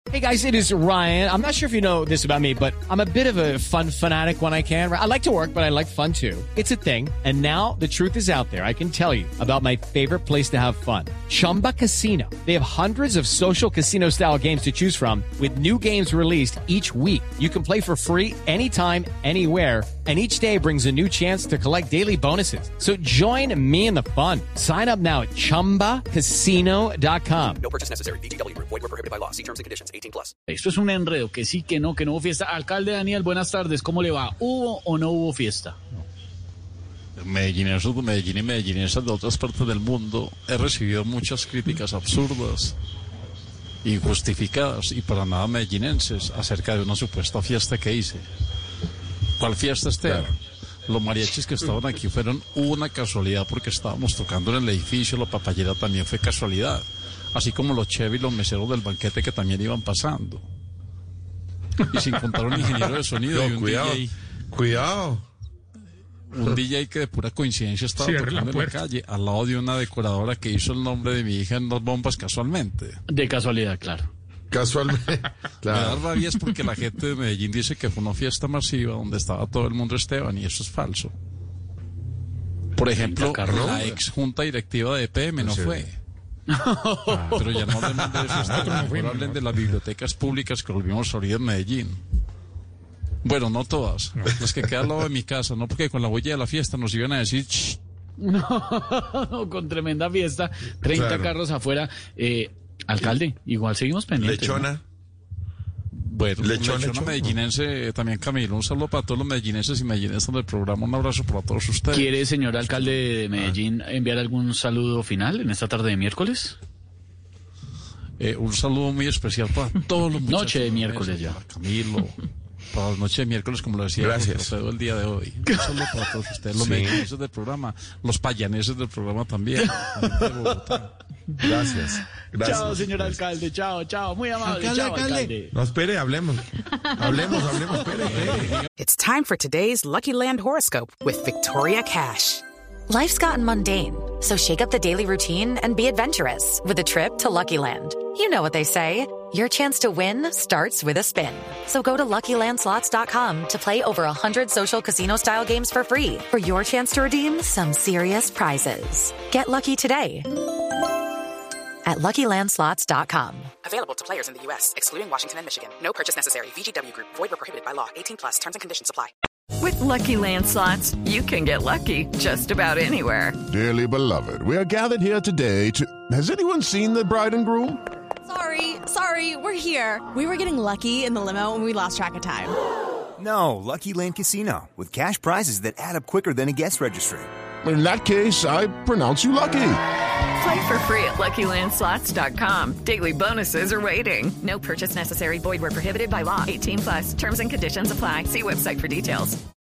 Hey guys, it is Ryan. I'm not sure if you know this about me, but I'm a bit of a fun fanatic when I can. I like to work, but I like fun too. It's a thing. And now the truth is out there. I can tell you about my favorite place to have fun. Chumba Casino. They have hundreds of social casino style games to choose from with new games released each week. You can play for free anytime, anywhere. And each day brings a new chance to collect daily bonuses. So join me in the fun. Sign up now at ChumbaCasino.com. No purchase necessary. VGW Group. Void where prohibited by law. See terms and conditions. 18+. Esto es un enredo, que sí, que no hubo fiesta. Alcalde Daniel, buenas tardes, ¿cómo le va? ¿Hubo o no hubo fiesta? Medellinesos de Medellín y medellinesas de otras partes del mundo, he recibido muchas críticas absurdas, injustificadas y para nada medellinenses acerca de una supuesta fiesta que hice. ¿Cuál fiesta, Esteban? Claro. Los mariachis que estaban aquí fueron una casualidad porque estábamos tocando en el edificio, la papayera también fue casualidad, así como los chevy y los meseros del banquete que también iban pasando. Y sin contar un ingeniero de sonido y un DJ. Cuidado. Un DJ que de pura coincidencia estaba tocando en la calle al lado de una decoradora que hizo el nombre de mi hija en las bombas casualmente. De casualidad, claro. Casualmente. Claro. Me da rabia es porque la gente de Medellín dice que fue una fiesta masiva donde estaba todo el mundo, Esteban, y eso es falso. Por ejemplo, la ex junta directiva de EPM no fue. Pero ya no hablemos de eso, mejor hablen de las bibliotecas públicas que volvimos a abrir en Medellín. Bueno, no todas, las que quedan al lado de mi casa, no porque con la huella de la fiesta nos iban a decir shh. No, con tremenda fiesta, 30 carros afuera. Alcalde, igual seguimos pendientes. Lechona. ¿No? Bueno, lechona medellinense, también Camilo, un saludo para todos los medellinenses y medellinesas del programa, un abrazo para todos ustedes. ¿Quiere, señor alcalde de Medellín, enviar algún saludo final en esta tarde de miércoles? Un saludo muy especial para todos los muchachos. Noche de miércoles ya. Para Camilo, para la noche de miércoles, como lo decía el día de hoy. Un saludo para todos ustedes, los medellineses del programa, los payaneses del programa también, la gente de Bogotá. Gracias. Chao, señor alcalde, chao. Muy amable, alcalde. No, espere, hablemos, espere. It's time for today's Lucky Land horoscope with Victoria Cash. Life's gotten mundane, so shake up the daily routine and be adventurous with a trip to Lucky Land. You know what they say, your chance to win starts with a spin. So go to LuckyLandSlots.com to play over 100 social casino-style games for free for your chance to redeem some serious prizes. Get lucky today at LuckyLandSlots.com. Available to players in the U.S., excluding Washington and Michigan. No purchase necessary. VGW Group. Void where prohibited by law. 18+. Terms and conditions apply. With Lucky Land Slots, you can get lucky just about anywhere. Dearly beloved, we are gathered here today to... Has anyone seen the bride and groom? Sorry, we're here. We were getting lucky in the limo and we lost track of time. No, Lucky Land Casino, with cash prizes that add up quicker than a guest registry. In that case, I pronounce you lucky. Play for free at LuckyLandSlots.com. Daily bonuses are waiting. No purchase necessary. Void where prohibited by law. 18+. Terms and conditions apply. See website for details.